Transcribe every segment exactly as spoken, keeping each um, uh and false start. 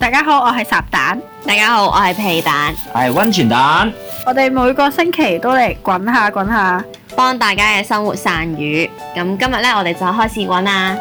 大家好，我係烚蛋。 大家好，我係皮蛋。 我係溫泉蛋。 我哋每個星期都嚟滾下滾下， 幫大家嘅生活散語。咁今日咧，我哋就開始滾啦。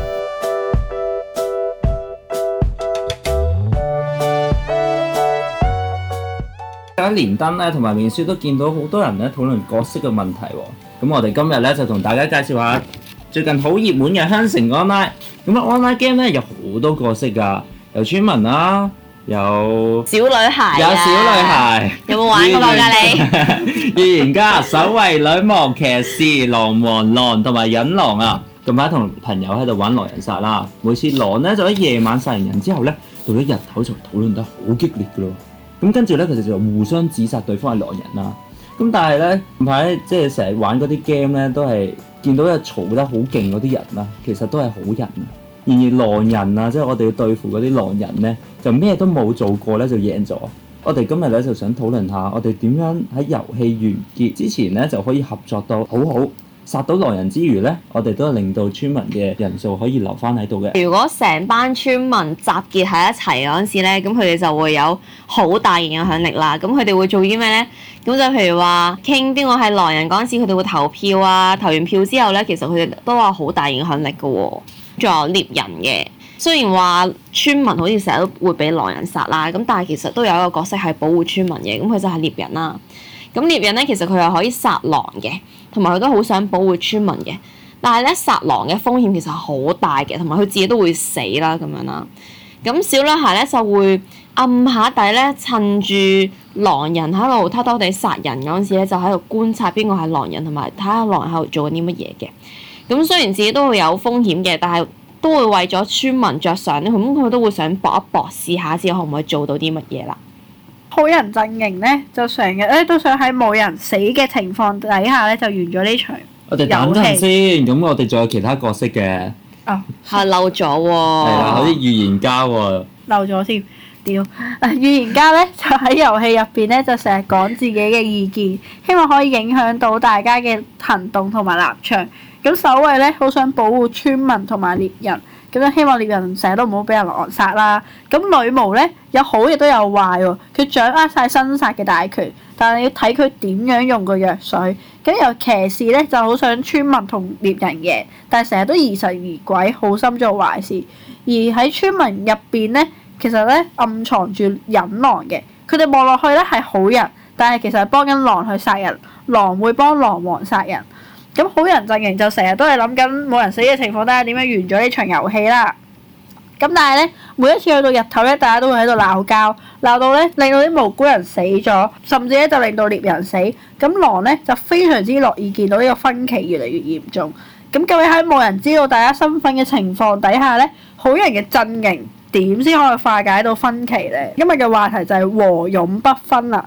喺連登咧同埋面書都見到好多人咧討論角色嘅問題喎。咁我哋今日咧就同大家介紹下最近好熱門嘅香城 online。咁啊 online game 咧有好多角色㗎。有村民啦，有小女孩， 有小女孩， 有冇玩過㗎你？ 預言家、守衛女王、騎士、狼王、狼同埋忍狼啊！近排同朋友喺度玩狼人殺啦，每次狼咧就喺夜晚殺完人之後咧，到咗日頭就討論得好激烈㗎咯。咁跟住咧，佢哋就互相指責對方係狼人啦。咁但係咧，近排即係成日玩嗰啲 game 咧，都係見到有嘈得好勁嗰啲人啦，其實都係好人啊。然而狼人啊，即係我哋要對付嗰啲狼人咧，就咩都冇做過咧就贏咗。我哋今日咧就想討論下，我哋點樣喺遊戲完結之前咧就可以合作到好好，殺到狼人之餘咧，我哋都係令到村民嘅人數可以留翻喺度嘅。 如果成班村民集結喺一齊嗰陣時咧，咁佢哋就會有好大影響力啦。咁佢哋會做啲咩咧？咁就譬如話傾邊個係狼人嗰陣時，佢哋會投票啊。投完票之後咧，其實佢哋都話好大影響力㗎喎。仲有獵人嘅，雖然話村民好似成日都會俾狼人殺啦，咁但係其實都有一個角色係保護村民嘅，咁佢就係獵人啦。咁獵人咧，其實佢又可以殺狼嘅，同埋佢都好想保護村民嘅。但係咧，殺狼嘅風險其實好大嘅，同埋佢自己都會死啦咁樣啦。咁小女孩咧就會暗下底咧，趁住狼人喺度偷偷地殺人嗰陣時咧，就喺度觀察邊個係狼人，同埋睇下狼人喺度做緊啲乜嘢嘅。咁雖然自己都會有風險嘅，但係都會為咗村民着想咧，咁佢都會想搏一搏，試下先可唔可以做到啲乜嘢啦。 好人陣營咧就成日咧都想喺冇人死嘅情況底下咧就完咗呢場遊戲。 我哋等陣先，咁我哋仲有其他角色嘅。 哦， 係漏咗喎。 係啦，好似預言家喎。 漏咗添，屌！啊，預言家咧就喺遊戲入邊咧就成日講自己嘅意見，希望可以影響到大家嘅行動同埋立場。咁守衛咧好想保護村民同埋獵人，咁樣希望獵人成日都唔好俾人狼殺啦。咁女巫咧有好亦都有壞喎，佢掌握晒生殺嘅大權，但係要睇佢點樣用個藥水。咁由騎士咧就好想村民同獵人贏，但係成日都疑神疑鬼，好心做壞事。而喺村民入邊咧，其實咧暗藏住忍狼嘅，佢哋望落去咧係好人，但係其實係幫緊狼去殺人，狼會幫狼王殺人。咁好人陣營就成日都係諗緊冇人死嘅情況底下點樣完咗呢場遊戲啦。咁但係咧，每一次去到日頭咧，大家都會喺度鬧交，鬧到咧令到啲無辜人死咗，甚至咧就令到獵人死。咁狼咧就非常之樂意見到呢個分歧越嚟越嚴重。咁究竟喺冇人知道大家身份嘅情況底下咧，好人嘅陣營點先可以化解到分歧咧？今日嘅話題就係和勇不分啦。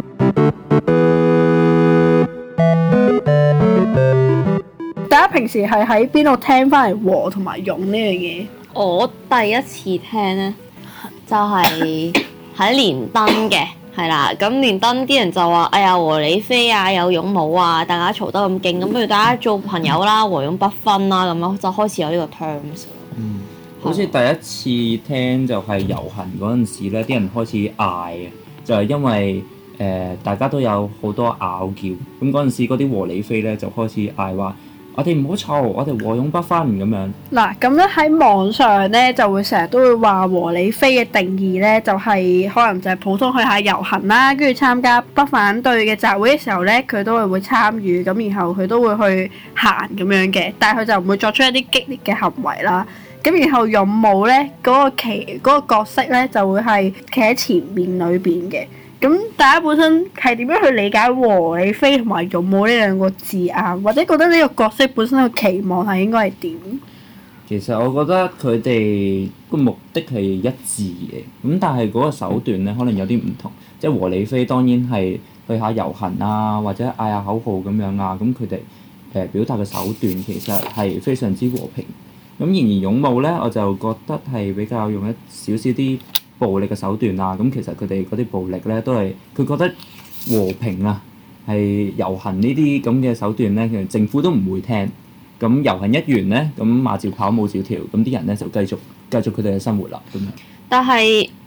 大家平時係喺邊度聽翻嚟和同埋勇呢樣嘢？ 我第一次聽咧，就係喺連登嘅，係啦。咁連登啲人就話：哎呀，和理非啊，有勇冇啊，大家嘈得咁勁，咁不如大家做朋友啦，和勇不分啦，咁樣就開始有呢個 terms。 嗯，好似第一次聽就係遊行嗰陣時咧，啲人開始嗌嘅，就係因為誒、呃、大家都有好多拗撬，咁嗰陣時嗰啲和理非咧就開始嗌話。我哋唔好嘈，我哋和勇不分咁樣。嗱， 咁咧喺網上咧就會成日都會話和理非嘅定義咧，就係、是、可能就係普通去下遊行啦，跟住參加不反對嘅集會嘅時候咧，佢都係會參與，咁然後佢都會去行咁樣嘅，但係佢就唔會作出一啲激烈嘅行為啦。咁然後勇武咧嗰個旗嗰、嗰個角色咧就會係企喺前面裏邊嘅。咁大家本身係點樣去理解和理非同埋勇武呢兩個字眼，或者覺得呢個角色本身嘅期望係應該係點？ 其實我覺得佢哋個目的係一致嘅，咁但係嗰個手段咧可能有啲唔同。即係和理非當然係去下遊行啊，或者嗌下口號咁樣啊，咁佢哋誒表達嘅手段其實係非常之和平。咁然而勇武咧，我就覺得係比較用一少少啲暴力嘅手段啊，咁其實佢哋嗰啲暴力咧都係佢覺得和平啊，係遊行呢啲咁嘅手段咧，其實政府都唔會聽。咁遊行一完咧，咁馬照跑，舞照跳，咁啲人咧就繼續繼續佢哋嘅生活啦咁樣。 但係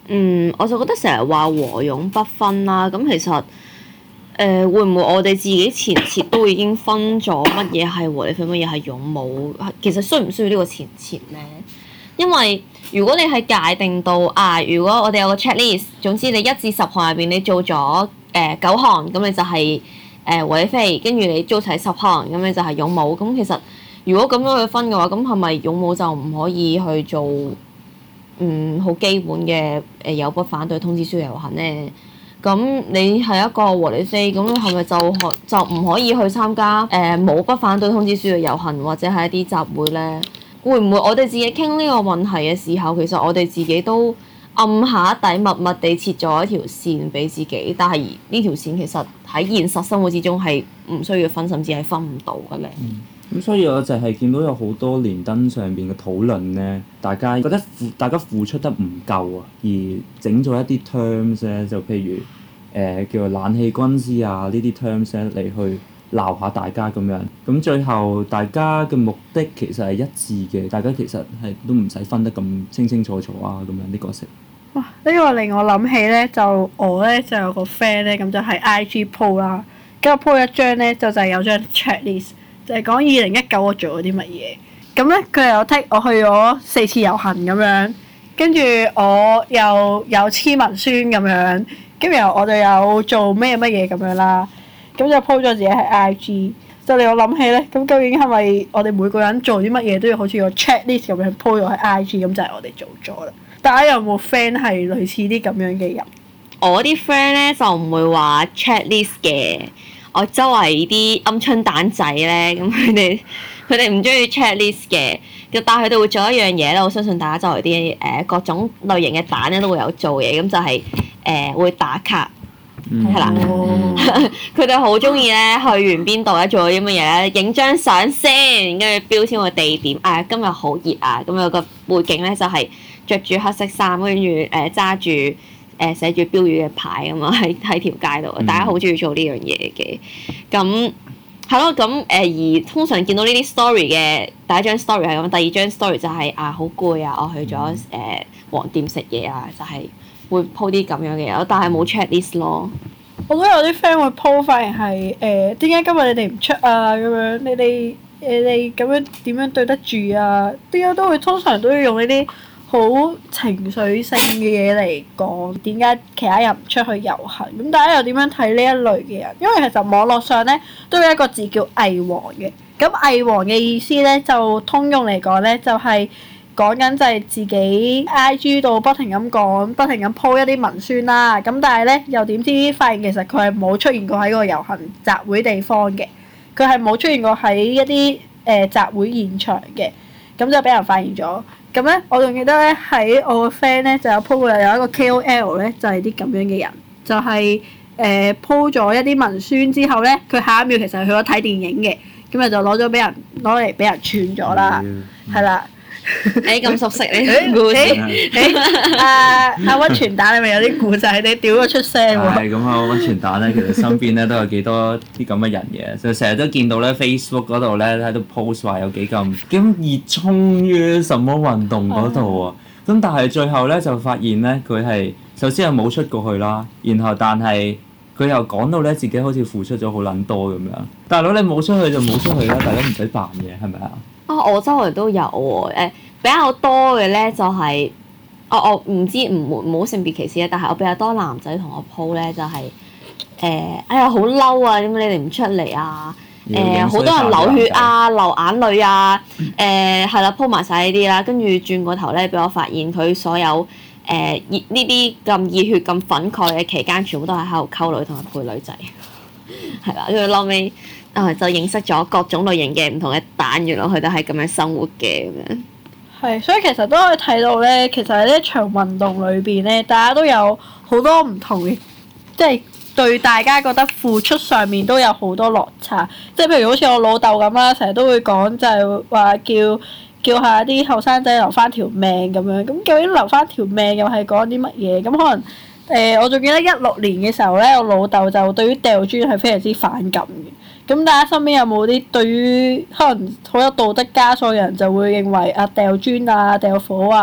嗯，我就覺得成日話和勇不分啦，咁其實誒、呃、會唔會我哋自己前設都已經分咗乜嘢係和理非，乜嘢係勇武？其實需唔需要呢個前設咧？因為如果你係界定到啊，如果我哋有個 checklist，總之你一至十項入邊你做咗誒、呃、九項，咁你就係誒和理非，跟住你做齊十項，咁你就係勇武。咁其實如果咁樣去分嘅話，咁係咪勇武就唔可以去做？嗯，好基本嘅誒有不反對通知書遊行咧，咁你係一個和理非，咁係咪就可就唔可以去參加誒冇、呃、不反對通知書嘅遊行或者係一啲集會咧？會唔會我哋自己傾呢個問題嘅時候，其實我哋自己都暗下底默默地設咗一條線俾自己，但係呢條線其實喺現實生活之中係唔需要分，甚至係分唔到嘅咧。 嗯咁所以我就係見到有好多連登上邊嘅討論咧，大家覺得付大家付出得唔夠啊，而整咗一啲 terms 咧，就譬如誒、呃、叫做冷氣軍師啊呢啲 terms 咧嚟去鬧下大家咁樣。咁最後大家嘅目的其實係一致嘅，大家其實係都唔使分得咁清清楚楚啊咁樣啲角色。 哇！呢、呢個令我諗起咧，就我咧就有個 friend 咧，咁就係 I G po 啦，跟住 po 一張咧就就係有張 checklist。就係講二零一九我做咗啲乜嘢，咁咧佢又剔我去咗四次遊行咁樣，跟住我又有簽文宣咁樣，跟住然後我就有做咩乜嘢咁樣啦，咁就 po 咗自己喺 I G，就令我諗起咧，咁究竟係咪我哋每個人做啲乜嘢都要好似個 checklist 咁樣 po 咗喺 I G，咁就係我哋做咗啦。大家有冇 friend 係類似啲咁樣嘅人？ 我啲 friend 咧就唔會話 checklist 嘅。我周圍啲鵪鶉蛋仔咧，咁佢哋佢哋唔中意 checklist 嘅，但係佢哋會做一樣嘢咧。我相信大家周圍啲誒各種類型嘅蛋咧都會有做嘢，咁就係、是、誒、呃、會打卡，係啦。佢哋好中意咧去完邊度咧做咗啲乜嘢咧，影張相先，跟住標籤個地點。啊，今日好熱啊！咁有個背景咧就係着住黑色衫，跟住誒揸住。誒寫住標語嘅牌咁啊，喺喺條街度，大家好中意做呢樣嘢嘅。咁係咯，咁誒、呃、而通常見到呢啲 story 嘅第一張 story 係咁，第二張 story 就係、是、啊好攰啊，我去咗誒、呃、黃店食嘢啊，就係、是、會 po 啲咁樣嘅嘢，但係冇 checklist 咯。 我都有啲 friend 會 po 發現係誒點解今日你哋唔出啊？咁樣你哋你哋咁樣點樣對得住啊？點解都會通常都要用呢啲好情緒性嘅嘢嚟講，點解其他人唔出去遊行？咁大家又點樣睇呢一類嘅人？因為其實網絡上咧都有一個字叫偽黃嘅。咁偽黃嘅意思咧，就通用嚟講咧，就係講緊就係自己 I G 度不停咁講，不停咁 po 一啲文宣啦。咁但係咧，又點知發現其實佢係冇出現過喺個遊行集會地方嘅，佢係冇出現過喺一啲誒、呃、集會現場嘅，咁就俾人發現咗。咁咧，我仲記得咧喺我個 friend 咧就有 po 過有一個 K O L 咧，就係啲咁樣嘅人，就係誒 po 咗一啲文宣之後咧，佢下一秒其實係去咗睇電影嘅，咁咪就攞咗俾人攞嚟俾人串咗啦，係啦。 誒咁熟悉呢啲故事？ 阿阿溫泉蛋，你咪有啲故仔，你屌咗出聲喎。 係咁啊！溫泉蛋咧，其實身邊咧都有幾多啲咁嘅人嘅，就成日都見到咧 Facebook 嗰度咧喺度 post 話有幾咁幾咁熱衷於什麼運動嗰度啊！咁但係最後咧就發現咧，佢係首先係冇出過去啦，然後但係佢又講到咧自己好似付出咗好撚多咁樣。大佬你冇出去就冇出去啦，大家唔使扮嘢係咪啊？ 啊！我周圍都有喎，誒比較多嘅咧就係、是，我我唔知唔唔好性別歧視咧，但係我比較多男仔同我 po 咧就係、是，誒、呃、哎呀好嬲啊！點解你哋唔出嚟啊？誒、呃、好多人流血啊、流眼淚啊，誒係啦 po 埋晒呢啲啦，跟住轉個頭咧俾我發現佢所有誒熱呢啲咁熱血咁憤慨嘅期間，全部都係喺度溝女同埋配女仔，係啦，跟住後尾。啊！就認識咗各種類型嘅唔同嘅蛋，原來佢哋係咁樣生活嘅咁樣。 係，所以其實都可以睇到咧，其實喺呢一場運動裏邊咧，大家都有好多唔同嘅，即係對大家覺得付出上面都有好多落差。即係譬如好似我老豆咁啦，成日都會講就係話叫叫下啲後生仔留翻條命咁樣。咁究竟留翻條命又係講啲乜嘢？咁可能誒、呃，我仲記得一六年嘅時候咧，我老豆就對於掉磚係非常之反感嘅。咁大家身邊有冇啲對於可能好有道德枷鎖嘅人就會認為啊掉磚啊掉火啊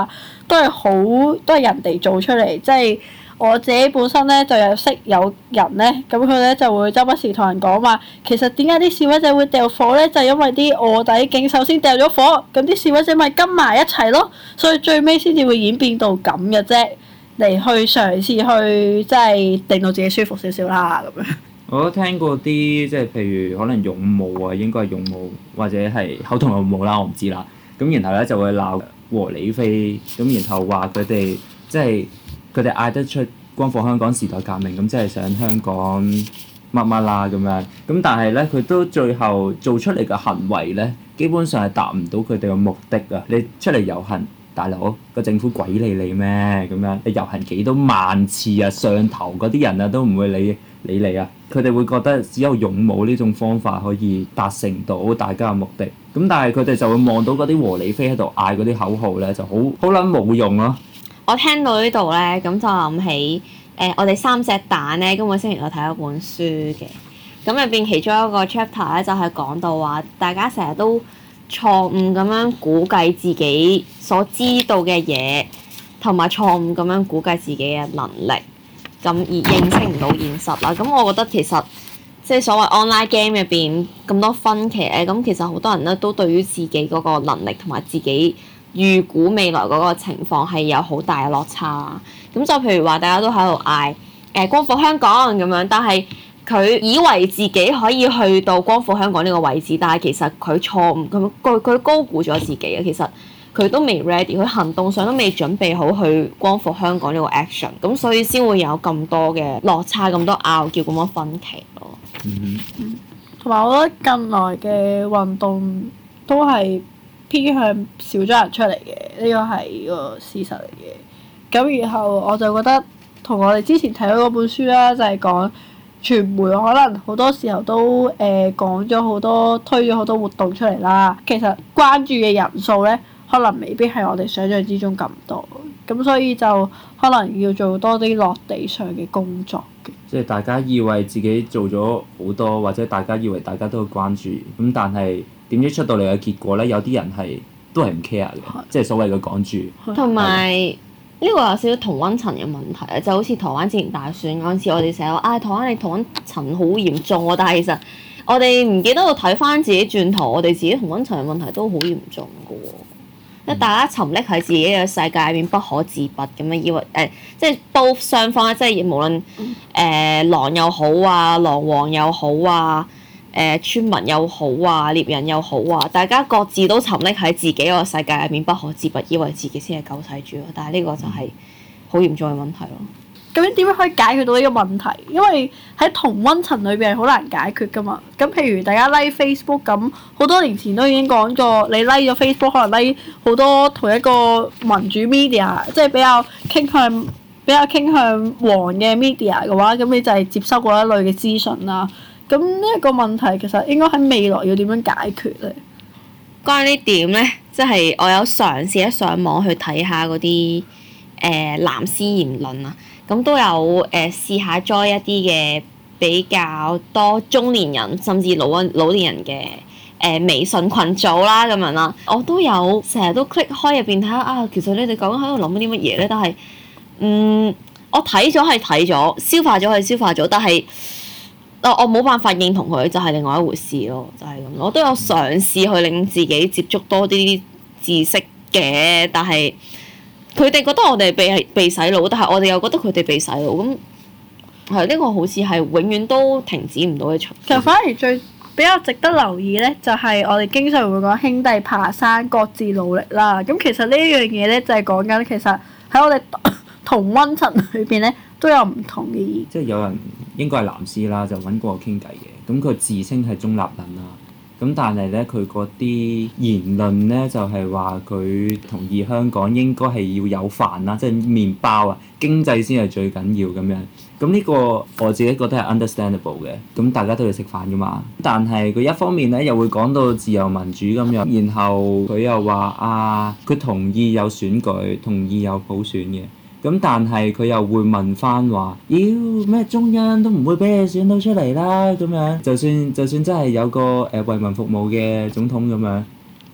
都係好都係人哋做出嚟，即係我自己本身咧就有識有人咧，咁佢咧就會周不時同人講話，其實點解啲示威者會掉火咧？就係因為啲臥底警首先掉咗火，咁啲示威者咪跟埋一齊咯，所以最尾先至會演變到咁嘅啫，嚟去嘗試去即係令到自己舒服少少啦咁樣。 我都聽過啲即係譬如可能勇武啊，應該係勇武或者係口同勇武啦，我唔知啦。咁然後咧就會鬧和理非，咁然後話佢哋即係佢哋嗌得出光復香港時代革命，咁即係想香港乜乜啦咁樣。咁但係咧佢都最後做出嚟嘅行為咧，基本上係達唔到佢哋嘅目的啊！你出嚟遊行，大佬個政府鬼理你咩咁樣？你遊行幾多萬次啊？上頭嗰啲人啊都唔會理理你啊！佢哋會覺得只有勇武呢種方法可以達成到大家嘅目的。咁但係佢哋就會望到嗰啲和理非喺度嗌嗰啲口號咧，就好好撚冇用咯。 我聽到呢度咧，咁就諗起誒、呃，我哋三隻蛋咧，今個星期我睇咗本書嘅。咁入邊其中一個 chapter 咧，就係、是、講到話，大家成日都錯誤咁樣估計自己所知道嘅嘢，同埋錯誤咁樣估計自己嘅能力，咁而認識唔到現實啦。咁我覺得其實即係所謂 online game 入邊咁多分歧咧，咁其實好多人咧都對於自己嗰個能力同埋自己預估未來嗰個情況係有好大嘅落差。咁就譬如話，大家都喺度嗌誒光復香港咁樣，但係佢以為自己可以去到光復香港呢個位置，但係其實佢錯誤，佢佢佢高估咗自己啊！其實佢都未 ready，佢行動上都未準備好去光復香港呢個 action，咁所以先會有咁多嘅落差、咁多拗撬、咁多分歧咯。 嗯， 同埋我覺得近來嘅運動都係偏向少咗人出嚟嘅，呢個係個事實嚟嘅。咁然後我就覺得同我哋之前睇咗嗰本書啦，就係講傳媒可能好多時候都誒講咗好多推咗好多活動出嚟啦，其實關注嘅人數咧可能未必係我哋想象之中咁多，咁所以就可能要做多啲落地上嘅工作嘅。 即係大家以為自己做咗好多，或者大家以為大家都會關注，咁但係點知出到嚟嘅結果咧，有啲人係都係唔 care 嘅，即係所謂嘅港豬。 同埋呢個有少少同溫層嘅問題啊，就好似台灣之前大選嗰陣時，我哋成日話啊台灣你同溫層好嚴重喎，但係其實我哋唔記得到睇翻自己轉頭，我哋自己同溫層嘅問題都好嚴重嘅喎。即係大家沉溺喺自己嘅世界入面不可自拔咁樣，以為誒、呃、即係都雙方即係無論誒、呃、狼又好啊，狼王又好啊，誒、呃、村民又好啊，獵人又好啊，大家各自都沉溺喺自己個世界入面不可自拔，以為自己先係救世主咯。但係呢個就係好嚴重嘅問題咯。 咁樣點樣可以解決到呢個問題？因為喺同溫層裏邊係好難解決噶嘛。咁譬如大家 like Facebook 咁，好多年前都已經講過，你 like 咗 Facebook 可能 like 好多同一個民主 media，即係比較傾向比較傾向黃嘅 media 嘅話，咁你就係接收嗰一類嘅資訊啦。咁呢一個問題其實應該喺未來要點樣解決咧？ 關於呢點咧，即係我有嘗試一上網去睇下嗰啲誒藍絲言論啊。咁都有誒、呃、試下 join 一啲嘅比較多中年人甚至老老年人嘅誒、呃、微信群組啦咁樣啦，我都有成日都 click 開入邊睇下啊，其實你哋究竟喺度諗緊啲乜嘢咧？但係嗯，我睇咗係睇咗，消化咗係消化咗，但係我我冇辦法認同佢，就係、是、另外一回事咯，就係、是、咁。我都有嘗試去令自己接觸多啲知識嘅，但係佢哋覺得我哋被被洗腦，但係我哋又覺得佢哋被洗腦，咁係呢個好似係永遠都停止唔到嘅循環。 其實反而最比較值得留意咧，就係我哋經常會講兄弟爬山各自努力啦。咁其實呢一樣嘢咧，就係講緊其實喺我哋同溫層裏邊咧都有唔同嘅意見。 即係有人應該係藍絲啦，就揾過我傾偈嘅，咁佢自稱係中立人啦。咁但係咧，佢嗰啲言論咧就係話佢同意香港應該係要有飯啦，即係麵包啊，經濟先係最緊要咁樣。咁呢個我自己覺得係 understandable 嘅。咁大家都要食飯噶嘛。但係佢一方面咧又會講到自由民主咁樣，然後佢又話啊，佢同意有選舉，同意有普選嘅。咁但係佢又會問翻話，妖咩中央都唔會俾你選到出嚟啦咁樣，就算就算真係有個誒為民服務嘅總統咁樣，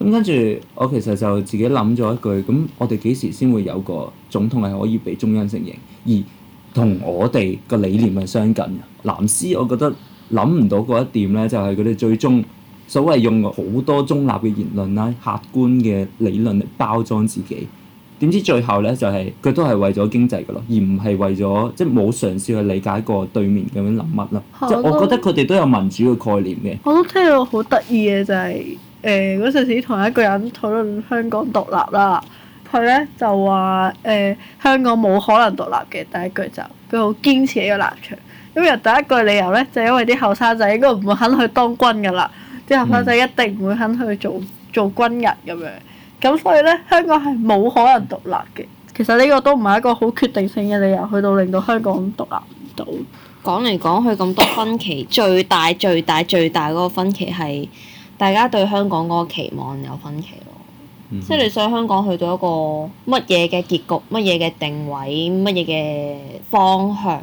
咁跟住我其實就自己諗咗一句，咁我哋幾時先會有個總統係可以被中央承認，而同我哋個理念係相近嘅？藍絲我覺得諗唔到嗰一點咧，就係佢哋最終所謂用好多中立嘅言論啦、客觀嘅理論嚟包裝自己。點知最後咧就係、是、佢都係為咗經濟㗎咯，而唔係為咗即係冇嘗試去理解過對面咁樣諗乜咯。即係我覺得佢哋都有民主嘅概念嘅。 我都聽到好得意嘅就係誒嗰陣時同一個人討論香港獨立啦，佢咧就話誒、呃、香港冇可能獨立嘅，第一句就佢好堅持呢個立場。因為第一句理由咧就係、因為啲後生仔應該唔會肯去當軍㗎啦，啲後生仔一定唔會肯去做做軍人咁樣。咁所以咧，香港係冇可能獨立嘅。其實呢個都唔係一個好決定性嘅理由，去到令到香港獨立唔到。 講嚟講去咁多分歧，最大最大最大嗰個分歧係大家對香港嗰個期望有分歧咯。嗯、哼即係你想香港去到一個乜嘢嘅結局、乜嘢嘅定位、乜嘢嘅方向？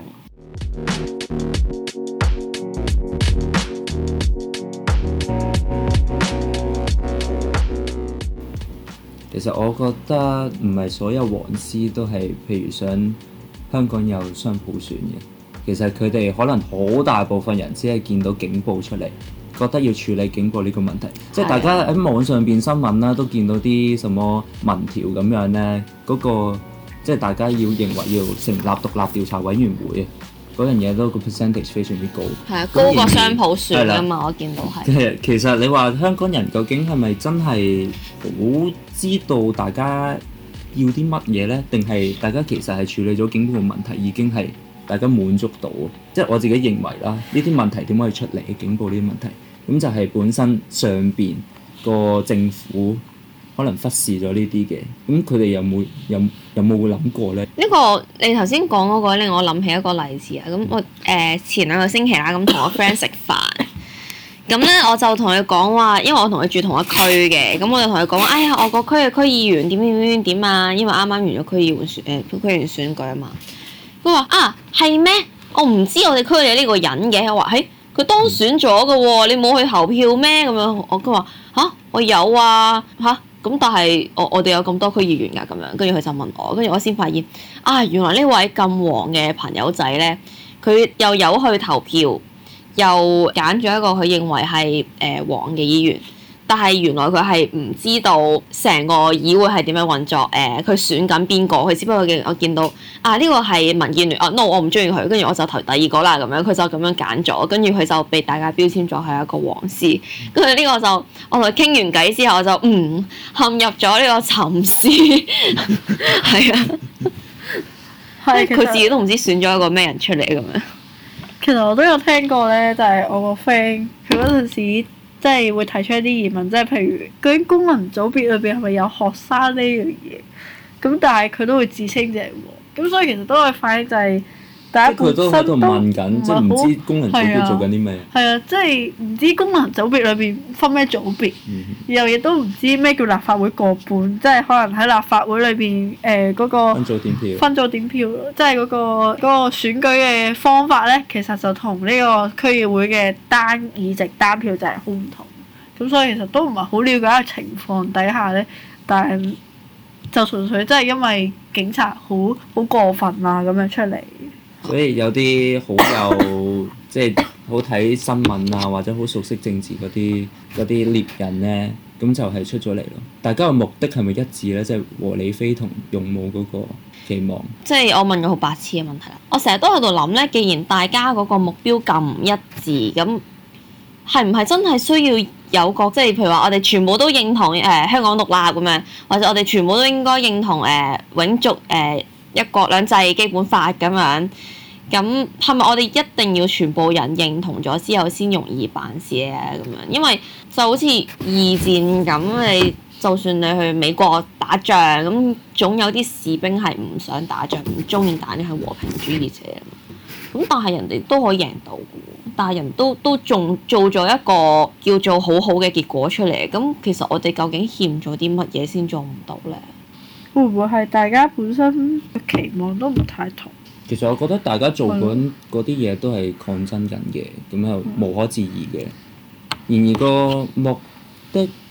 其實我覺得唔係所有黃絲都係，譬如想香港有雙普選嘅。其實佢哋可能好大部分人只係見到警暴出嚟，覺得要處理警暴呢個問題。即係大家喺網上邊新聞啦，都見到啲什麼民調咁樣咧，嗰、嗰個即係大家要認為要成立獨立調查委員會。嗰樣嘢都個 percentage 非常之高，係啊， 高過雙普選啊嘛，我見到係。即係其實你話香港人究竟係咪真係好知道大家要啲乜嘢咧？定係大家其實係處理咗警暴嘅問題已經係大家滿足到？即係我自己認為啦，呢啲問題點可以出嚟？警暴呢啲問題，咁就係本身上邊個政府可能忽視咗呢啲嘅，咁佢哋有冇有有冇會諗過咧？呢、 呢個你頭先講嗰個令我諗起一個例子啊！咁我誒、呃、前兩個星期啦，咁同我 friend 食飯，咁咧我就同佢講話，因為我同佢住同一區嘅，咁我就同佢講話，哎呀，我個區嘅區議員點點點點啊，因為啱啱完咗區議員選誒區議員選舉啊嘛。佢話啊係咩？我唔知我哋區有呢個人嘅，我話誒佢當選咗嘅喎，你冇去投票咩？咁樣我佢話吓我有啊吓。咁但係我我哋有咁多區議員㗎咁樣，跟住佢就問我，跟住我先發現啊，原來呢位咁黃嘅朋友仔咧，佢又有去投票，又揀咗一個佢認為係誒黃嘅議員，但係原來佢係唔知道成個議會係點樣運作，誒、呃、佢選緊邊個，佢只不過見我見到啊呢、這個係民建聯，啊 no 我唔中意佢，跟住我就投第二個啦咁樣，佢就咁樣揀咗，跟住佢就被大家標籤咗係一個黃絲，跟住呢個就我同佢傾完偈之後，我就嗯陷入咗呢個沉思，係啊，係佢自己都唔知選咗一個咩人出嚟咁樣。 其實我都有聽過咧，就係、是、我個 friend 佢嗰陣時。即係會提出一啲疑問，即係譬如究竟功能組別裏邊係咪有學生呢樣嘢？咁但係佢都會自稱就係黃，咁所以其實都可以反映就係大家本身都唔係好唔知功能組別做緊啲咩。 係啊，即係唔知功能組別裏邊分咩組別，嗯、然後亦都唔知咩叫立法會過半，即係可能喺立法會裏邊誒嗰個分組點票， 分組點票，即係嗰個嗰、嗰個選舉嘅方法咧，其實就同呢個區議會嘅單議席單票就係好唔同。咁所以其實都唔係好了解嘅情況底下咧，但係就純粹真係因為警察好好過分啊咁樣出嚟。 所以有啲好有即係好睇新聞啊，或者好熟悉政治嗰啲嗰啲獵人咧，咁就係出咗嚟咯。大家嘅目的係咪一致咧？即係和理非同勇武嗰個期望。 即係我問個好白痴嘅問題啦。我成日都喺度諗咧，既然大家嗰個目標咁唔一致，咁係唔係真係需要有個即係譬如話我哋全部都認同誒、呃、香港獨立咁樣，或者我哋全部都應該認同誒、呃、永續誒、呃、一國兩制基本法咁樣？咁係咪我哋一定要全部人認同咗之後先容易辦事咧？咁樣，因為就好似二戰咁，你就算你去美國打仗，咁總有啲士兵係唔想打仗、唔中意打，啲係和平主義者。咁但係人哋都可以贏到嘅，但係人都都仲做咗一個叫做好好嘅結果出嚟。咁其實我哋究竟欠咗啲乜嘢先做唔到咧？ 會唔會係大家本身嘅期望都唔太同？ 其實我覺得大家做緊嗰啲嘢都係抗爭緊嘅，咁又無可置疑嘅。然而個目的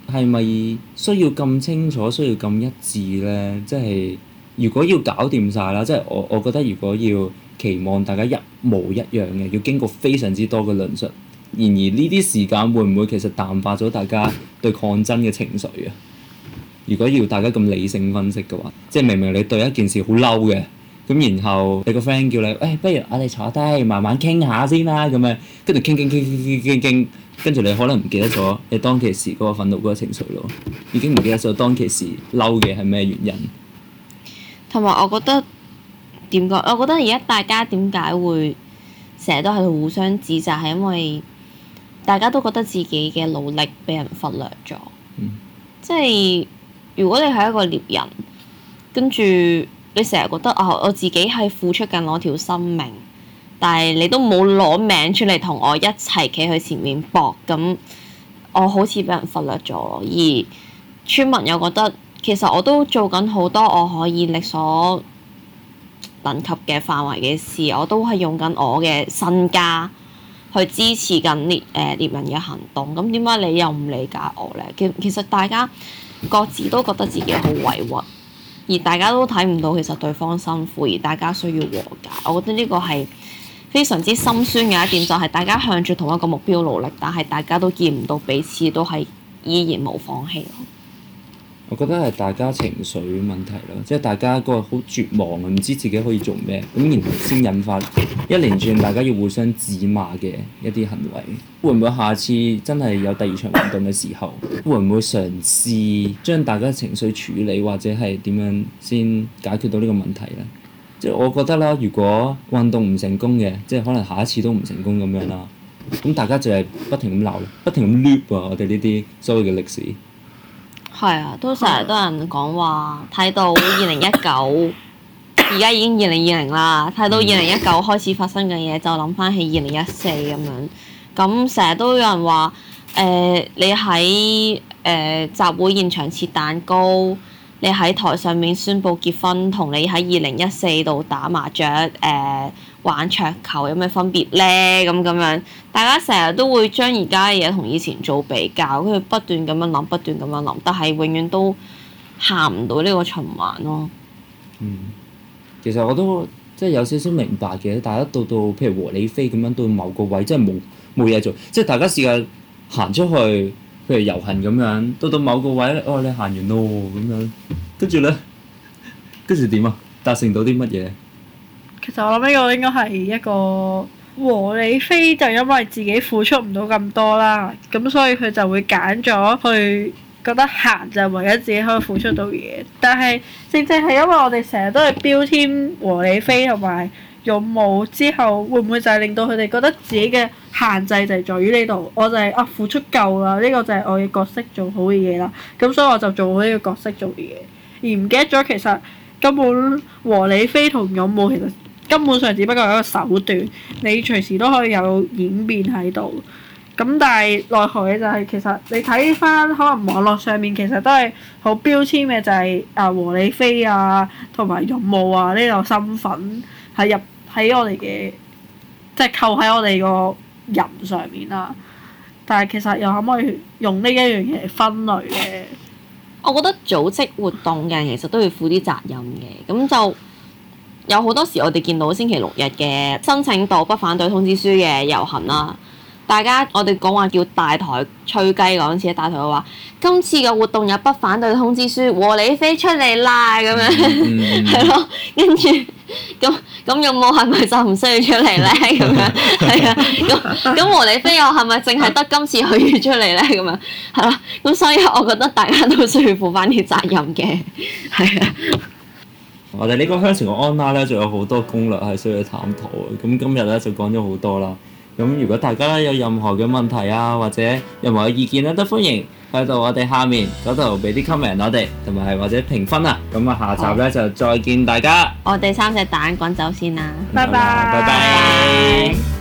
係咪需要咁清楚，需要咁一致咧？即係如果要搞掂晒啦，即係我我覺得如果要期望大家一模一樣嘅，要經過非常之多嘅論述。然而呢啲時間會唔會其實淡化咗大家對抗爭嘅情緒啊？如果要大家咁理性分析嘅話，即係明明你對一件事好嬲嘅，咁然後你個 friend 叫你，誒、哎，不如我哋坐低慢慢傾下先啦，咁樣跟住傾傾傾傾傾傾傾，跟住你可能唔記得咗你當其時嗰個憤怒嗰個情緒咯，已經唔記得咗當其時嬲嘅係咩原因。 同埋我覺得點講？我覺得而家大家點解會成日都喺度互相指責，係因為大家都覺得自己嘅努力俾人忽略咗。嗯、即係如果你係一個獵人，跟住你成日覺得啊、哦，我自己係付出緊我條生命，但係你都冇攞命出嚟同我一齊企去前面搏，咁我好似俾人忽略咗咯。而村民又覺得其實我都做緊好多我可以力所能及嘅範圍嘅事，我都係用緊我嘅身家去支持緊獵誒獵人嘅行動。咁點解你又唔理解我咧？其其實大家各自都覺得自己好委屈，而大家都睇唔到其實對方辛苦，而大家需要和解。我覺得呢個係非常之心酸嘅一點，就係大家向住同一個目標努力，但係大家都見唔到彼此都係依然冇放棄咯。 我覺得係大家情緒問題咯，即係大家個好絕望啊，唔知自己可以做咩，咁然後先引發一連串大家要互相指罵嘅一啲行為。會唔會下次真係有第二場運動嘅時候，會唔會嘗試將大家情緒處理，或者係點樣先解決到呢個問題咧？即係我覺得啦，如果運動唔成功嘅，即係可能下一次都唔成功咁樣啦，咁大家就係不停咁鬧，不停咁 loop 啊！我哋呢啲所謂嘅歷史。 係啊，都成日都有人講話睇到二零一九，而家已經二零二零啦。睇到二零一九開始發生嘅嘢，就諗翻起二零一四咁樣。咁成日都有人話誒、呃，你喺誒、呃、集會現場切蛋糕，你喺台上面宣佈結婚，同你喺二零一四度打麻雀誒、呃、玩桌球有咩分別咧？咁咁樣，大家成日都會將而家嘅嘢同以前做比較，跟住不斷咁樣諗，不斷咁樣諗，但係永遠都行唔到呢個循環咯。 嗯，其實我都即係有少少明白嘅，大家到到譬如和理非咁樣到某個位，即係冇冇嘢做，即係大家試下行出去，譬如遊行咁樣，到到某個位咧，哦，你行完咯咁樣，跟住咧，跟住點啊？達成到啲乜嘢？ 其實我諗呢個應該係一個和理非，就因為自己付出唔到咁多啦，咁所以佢就會揀咗去覺得行就係唯一自己可以付出到嘢。但係正正係因為我哋成日都係標籤和理非同埋勇武之後，會唔會就係令到佢哋覺得自己嘅限制就係在於呢度？我就係、是、啊付出夠啦，呢、這個就係我嘅角色做好嘅嘢啦。咁所以我就做好呢個角色做嘅嘢，而唔記得咗其實根本和理非同勇武其實根本上只不過係一個手段，你隨時都可以有演變喺度。咁但係奈何嘅就係其實你睇翻可能網絡上面其實都係好標籤嘅，就係啊和理非啊同埋勇武啊呢個身份係入喺我哋嘅即係扣喺我哋個人上面啦。但係其實又可唔可以用呢一樣嘢嚟分類咧？ 我覺得組織活動嘅人其實都要負啲責任嘅，咁就有好多時我哋見到星期六日嘅申請到不反對通知書嘅遊行啦，大家我哋講話叫大台吹雞嗰陣時，大台話今次嘅活動有不反對通知書，和理非出嚟啦咁樣，係咯、嗯，跟住咁咁勇武係咪就唔需要出嚟咧？咁樣係啊，咁咁和理非又係咪淨係得今次佢要出嚟咧？咁樣係咯，咁所以我覺得大家都需要負翻啲責任嘅，係啊。 我哋呢個鄉村嘅 online 咧，仲有好多攻略係需要探討嘅。咁今日咧就講咗好多啦。咁如果大家有任何嘅問題啊，或者任何嘅意見咧，都歡迎去到我哋下面嗰度俾啲 comment 我哋，同埋或者評分啊。咁啊，下集咧就再見大家。 我哋三隻蛋滾走先啦， 拜拜， 拜拜。